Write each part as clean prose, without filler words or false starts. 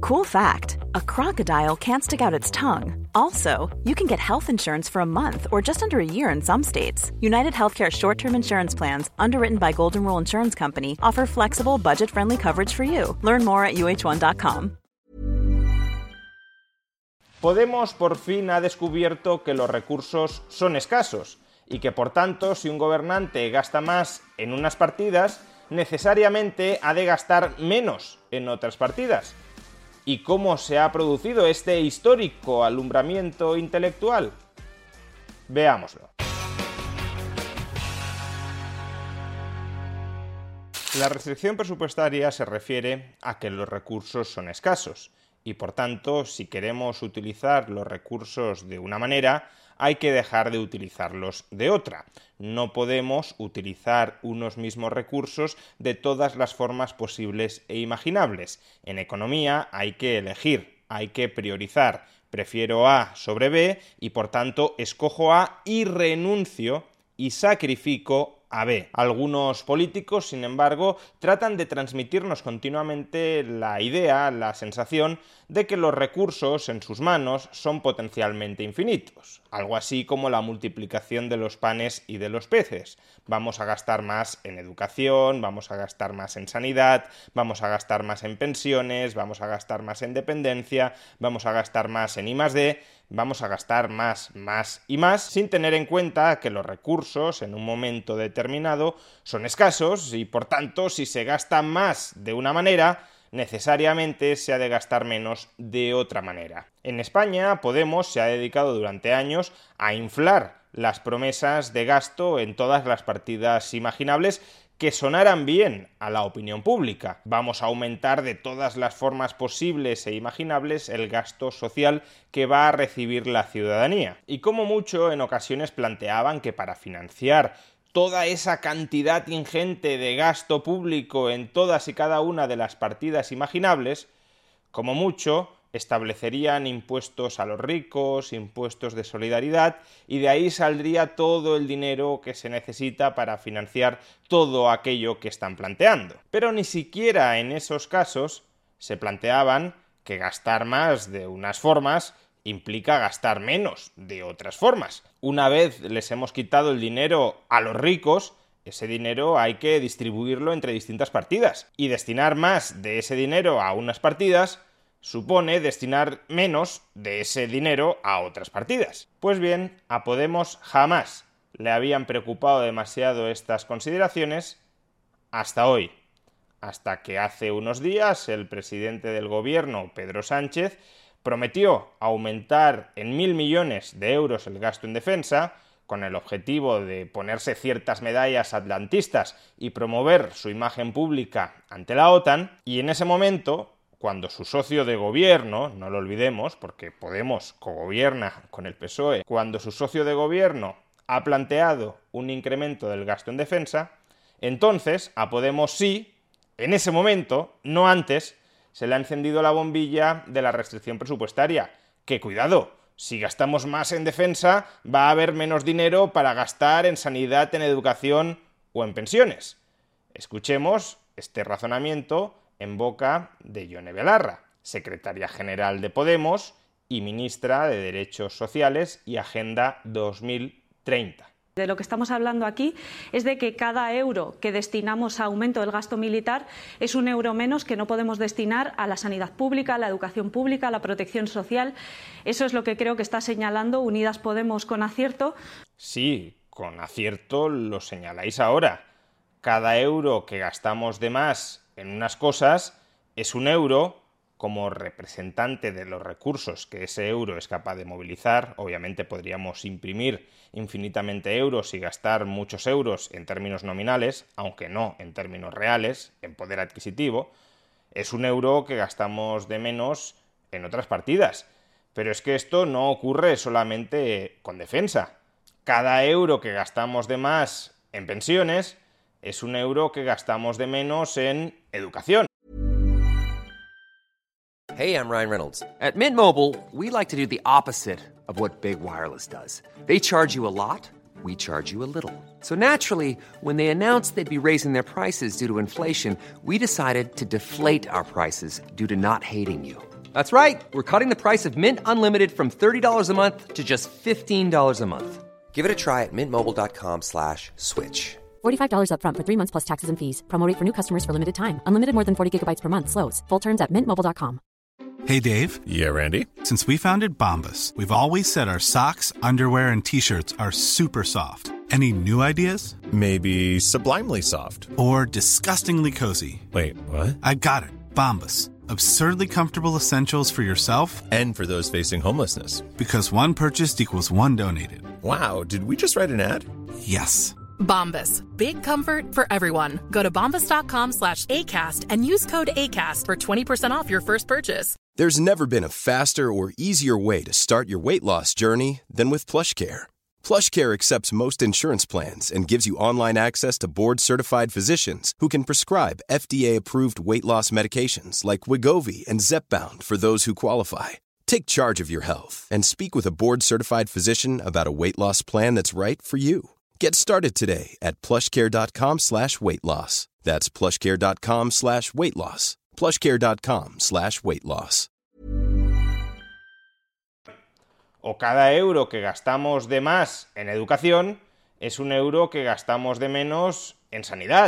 Cool fact, a crocodile can't stick out its tongue. Also, you can get health insurance for a month or just under a year in some states. United Healthcare short-term insurance plans, underwritten by Golden Rule Insurance Company, offer flexible, budget-friendly coverage for you. Learn more at uh1.com. Podemos por fin ha descubierto que los recursos son escasos y que por tanto si un gobernante gasta más en unas partidas, necesariamente ha de gastar menos en otras partidas. ¿Y cómo se ha producido este histórico alumbramiento intelectual? Veámoslo. La restricción presupuestaria se refiere a que los recursos son escasos y, por tanto, si queremos utilizar los recursos de una manera, hay que dejar de utilizarlos de otra. No podemos utilizar unos mismos recursos de todas las formas posibles e imaginables. En economía hay que elegir, hay que priorizar. Prefiero A sobre B y, por tanto, escojo A y renuncio y sacrifico a B. Algunos políticos, sin embargo, tratan de transmitirnos continuamente la idea, la sensación de que los recursos en sus manos son potencialmente infinitos. Algo así como la multiplicación de los panes y de los peces. Vamos a gastar más en educación, vamos a gastar más en sanidad, vamos a gastar más en pensiones, vamos a gastar más en dependencia, vamos a gastar más en I+D, vamos a gastar más y más, sin tener en cuenta que los recursos en un momento determinado son escasos y, por tanto, si se gasta más de una manera, necesariamente se ha de gastar menos de otra manera. En España, Podemos se ha dedicado durante años a inflar las promesas de gasto en todas las partidas imaginables que sonaran bien a la opinión pública. Vamos a aumentar de todas las formas posibles e imaginables el gasto social que va a recibir la ciudadanía. Y como mucho, en ocasiones planteaban que para financiar toda esa cantidad ingente de gasto público en todas y cada una de las partidas imaginables, como mucho, establecerían impuestos a los ricos, impuestos de solidaridad, y de ahí saldría todo el dinero que se necesita para financiar todo aquello que están planteando. Pero ni siquiera en esos casos se planteaban que gastar más de unas formas implica gastar menos de otras formas. Una vez les hemos quitado el dinero a los ricos, ese dinero hay que distribuirlo entre distintas partidas. Y destinar más de ese dinero a unas partidas supone destinar menos de ese dinero a otras partidas. Pues bien, a Podemos jamás le habían preocupado demasiado estas consideraciones hasta hoy. Hasta que hace unos días el presidente del gobierno, Pedro Sánchez, prometió aumentar en 1.000 millones de euros el gasto en defensa, con el objetivo de ponerse ciertas medallas atlantistas y promover su imagen pública ante la OTAN, y en ese momento, cuando su socio de gobierno, no lo olvidemos, porque Podemos cogobierna con el PSOE, cuando su socio de gobierno ha planteado un incremento del gasto en defensa, entonces a Podemos sí, en ese momento, no antes, se le ha encendido la bombilla de la restricción presupuestaria. Que cuidado, si gastamos más en defensa, va a haber menos dinero para gastar en sanidad, en educación o en pensiones. Escuchemos este razonamiento en boca de Yone Belarra, secretaria general de Podemos y ministra de Derechos Sociales y Agenda 2030. De lo que estamos hablando aquí es de que cada euro que destinamos a aumento del gasto militar es un euro menos que no podemos destinar a la sanidad pública, a la educación pública, a la protección social. Eso es lo que creo que está señalando Unidas Podemos con acierto. Sí, con acierto lo señaláis ahora. Cada euro que gastamos de más en unas cosas es un euro como representante de los recursos que ese euro es capaz de movilizar. Obviamente podríamos imprimir infinitamente euros y gastar muchos euros en términos nominales, aunque no en términos reales, en poder adquisitivo. Es un euro que gastamos de menos en otras partidas. Pero es que esto no ocurre solamente con defensa. Cada euro que gastamos de más en pensiones es un euro que gastamos de menos en educación. Hey, I'm Ryan Reynolds. At Mint Mobile, we like to do the opposite of what Big Wireless does. They charge you a lot, we charge you a little. So naturally, when they announced they'd be raising their prices due to inflation, we decided to deflate our prices due to not hating you. That's right. We're cutting the price of Mint Unlimited from $30 a month to just $15 a month. Give it a try at mintmobile.com/switch. $45 up front for 3 months plus taxes and fees. Promo rate for new customers for limited time. Unlimited more than 40 gigabytes per month. Slows full terms at mintmobile.com. Hey, Dave. Yeah, Randy? Since we founded Bombas, we've always said our socks, underwear, and T-shirts are super soft. Any new ideas? Maybe sublimely soft. Or disgustingly cozy. Wait, what? I got it. Bombas. Absurdly comfortable essentials for yourself and for those facing homelessness. Because one purchased equals one donated. Wow, did we just write an ad? Yes. Bombas. Big comfort for everyone. Go to bombas.com/ACAST and use code ACAST for 20% off your first purchase. There's never been a faster or easier way to start your weight loss journey than with PlushCare. PlushCare accepts most insurance plans and gives you online access to board-certified physicians who can prescribe FDA-approved weight loss medications like Wegovy and Zepbound for those who qualify. Take charge of your health and speak with a board-certified physician about a weight loss plan that's right for you. Get started today at plushcare.com/weight loss. That's plushcare.com/weight loss. plushcare.com/weight loss. O cada euro que gastamos de más en educación es un euro que gastamos de menos en sanidad.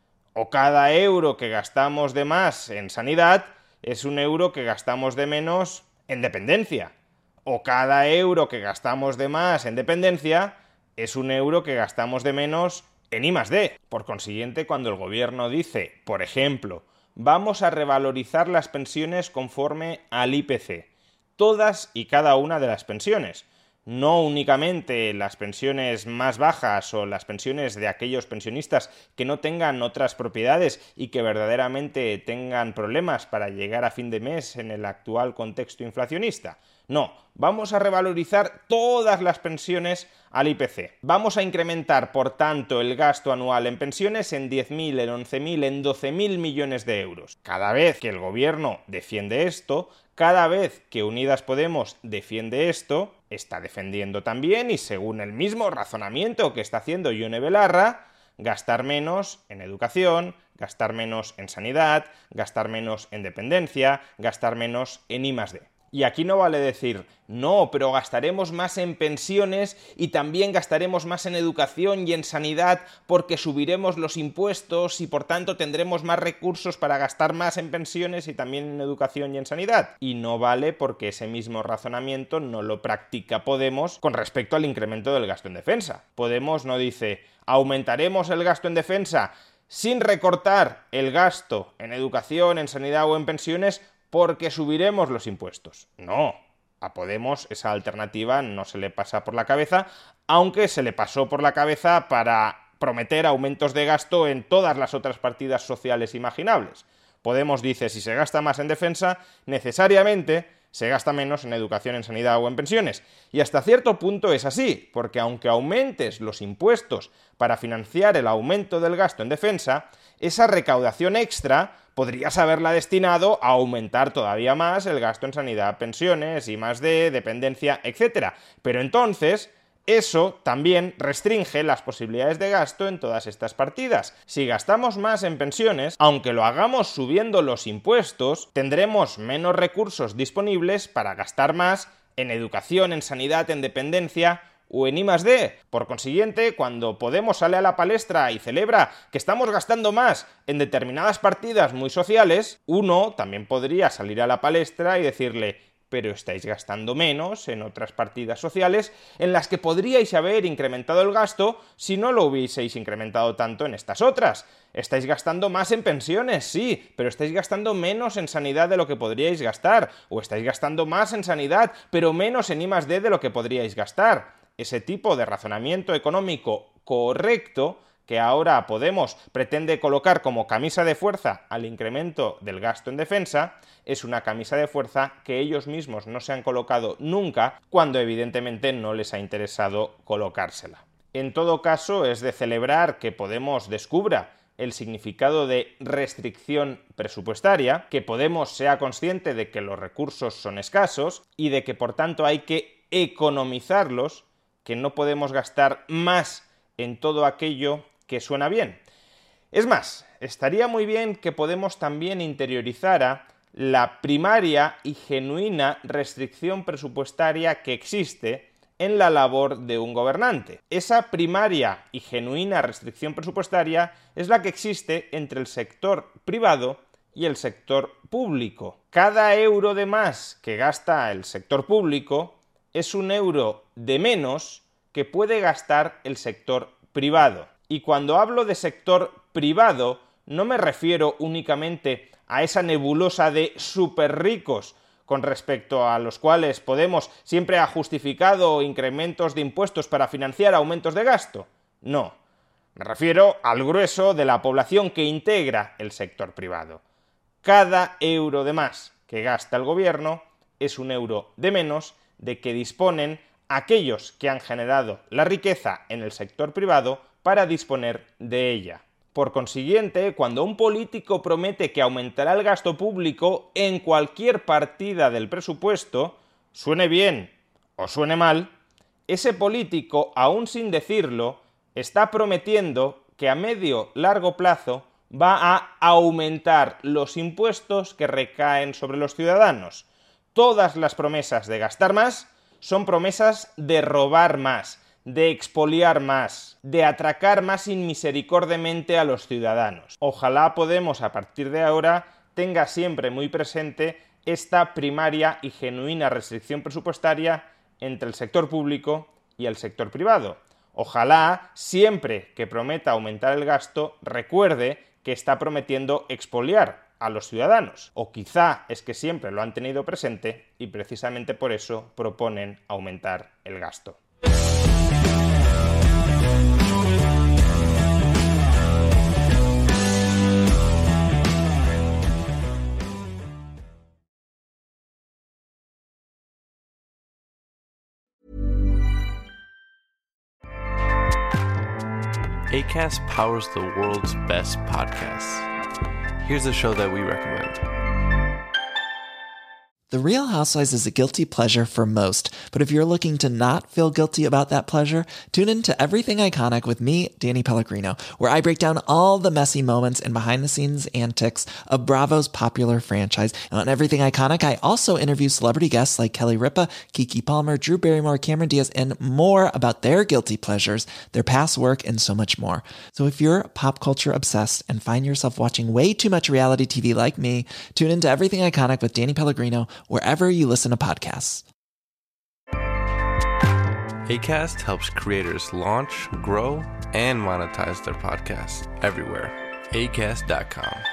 O cada euro que gastamos de más en sanidad es un euro que gastamos de menos en dependencia. O cada euro que gastamos de más en dependencia es un euro que gastamos de menos en I+D. Por consiguiente, cuando el gobierno dice, por ejemplo, vamos a revalorizar las pensiones conforme al IPC, todas y cada una de las pensiones, no únicamente las pensiones más bajas o las pensiones de aquellos pensionistas que no tengan otras propiedades y que verdaderamente tengan problemas para llegar a fin de mes en el actual contexto inflacionista. No, vamos a revalorizar todas las pensiones al IPC. Vamos a incrementar, por tanto, el gasto anual en pensiones en 10.000, en 11.000, en 12.000 millones de euros. Cada vez que el gobierno defiende esto, cada vez que Unidas Podemos defiende esto, está defendiendo también, y según el mismo razonamiento que está haciendo Ione Belarra, gastar menos en educación, gastar menos en sanidad, gastar menos en dependencia, gastar menos en I+D. Y aquí no vale decir, no, pero gastaremos más en pensiones y también gastaremos más en educación y en sanidad porque subiremos los impuestos y por tanto tendremos más recursos para gastar más en pensiones y también en educación y en sanidad. Y no vale porque ese mismo razonamiento no lo practica Podemos con respecto al incremento del gasto en defensa. Podemos no dice, aumentaremos el gasto en defensa sin recortar el gasto en educación, en sanidad o en pensiones porque subiremos los impuestos. No, a Podemos esa alternativa no se le pasa por la cabeza, aunque se le pasó por la cabeza para prometer aumentos de gasto en todas las otras partidas sociales imaginables. Podemos dice, si se gasta más en defensa, necesariamente se gasta menos en educación, en sanidad o en pensiones. Y hasta cierto punto es así, porque aunque aumentes los impuestos para financiar el aumento del gasto en defensa, esa recaudación extra podrías haberla destinado a aumentar todavía más el gasto en sanidad, pensiones, I+D, dependencia, etc. Pero entonces eso también restringe las posibilidades de gasto en todas estas partidas. Si gastamos más en pensiones, aunque lo hagamos subiendo los impuestos, tendremos menos recursos disponibles para gastar más en educación, en sanidad, en dependencia o en I+D. Por consiguiente, cuando Podemos sale a la palestra y celebra que estamos gastando más en determinadas partidas muy sociales, uno también podría salir a la palestra y decirle, pero estáis gastando menos en otras partidas sociales en las que podríais haber incrementado el gasto si no lo hubieseis incrementado tanto en estas otras. Estáis gastando más en pensiones, sí, pero estáis gastando menos en sanidad de lo que podríais gastar, o estáis gastando más en sanidad, pero menos en I+D de lo que podríais gastar. Ese tipo de razonamiento económico correcto que ahora Podemos pretende colocar como camisa de fuerza al incremento del gasto en defensa, es una camisa de fuerza que ellos mismos no se han colocado nunca, cuando evidentemente no les ha interesado colocársela. En todo caso, es de celebrar que Podemos descubra el significado de restricción presupuestaria, que Podemos sea consciente de que los recursos son escasos y de que por tanto hay que economizarlos, que no podemos gastar más en todo aquello que suena bien. Es más, estaría muy bien que Podemos también interiorizara la primaria y genuina restricción presupuestaria que existe en la labor de un gobernante. Esa primaria y genuina restricción presupuestaria es la que existe entre el sector privado y el sector público. Cada euro de más que gasta el sector público es un euro de menos que puede gastar el sector privado. Y cuando hablo de sector privado, no me refiero únicamente a esa nebulosa de superricos con respecto a los cuales Podemos siempre ha justificado incrementos de impuestos para financiar aumentos de gasto. No, me refiero al grueso de la población que integra el sector privado. Cada euro de más que gasta el gobierno es un euro de menos de que disponen aquellos que han generado la riqueza en el sector privado para disponer de ella. Por consiguiente, cuando un político promete que aumentará el gasto público en cualquier partida del presupuesto, suene bien o suene mal, ese político, aún sin decirlo, está prometiendo que a medio-largo plazo va a aumentar los impuestos que recaen sobre los ciudadanos. Todas las promesas de gastar más son promesas de robar más, de expoliar más, de atracar más inmisericordiamente a los ciudadanos. Ojalá Podemos, a partir de ahora, tenga siempre muy presente esta primaria y genuina restricción presupuestaria entre el sector público y el sector privado. Ojalá, siempre que prometa aumentar el gasto, recuerde que está prometiendo expoliar a los ciudadanos. O quizá es que siempre lo han tenido presente y precisamente por eso proponen aumentar el gasto. Acast powers the world's best podcasts. Here's a show that we recommend. The Real Housewives is a guilty pleasure for most, but if you're looking to not feel guilty about that pleasure, tune in to Everything Iconic with me, Danny Pellegrino, where I break down all the messy moments and behind-the-scenes antics of Bravo's popular franchise. And on Everything Iconic, I also interview celebrity guests like Kelly Ripa, Keke Palmer, Drew Barrymore, Cameron Diaz, and more about their guilty pleasures, their past work, and so much more. So if you're pop culture obsessed and find yourself watching way too much reality TV like me, tune into Everything Iconic with Danny Pellegrino, wherever you listen to podcasts. Acast helps creators launch, grow, and monetize their podcasts everywhere. Acast.com.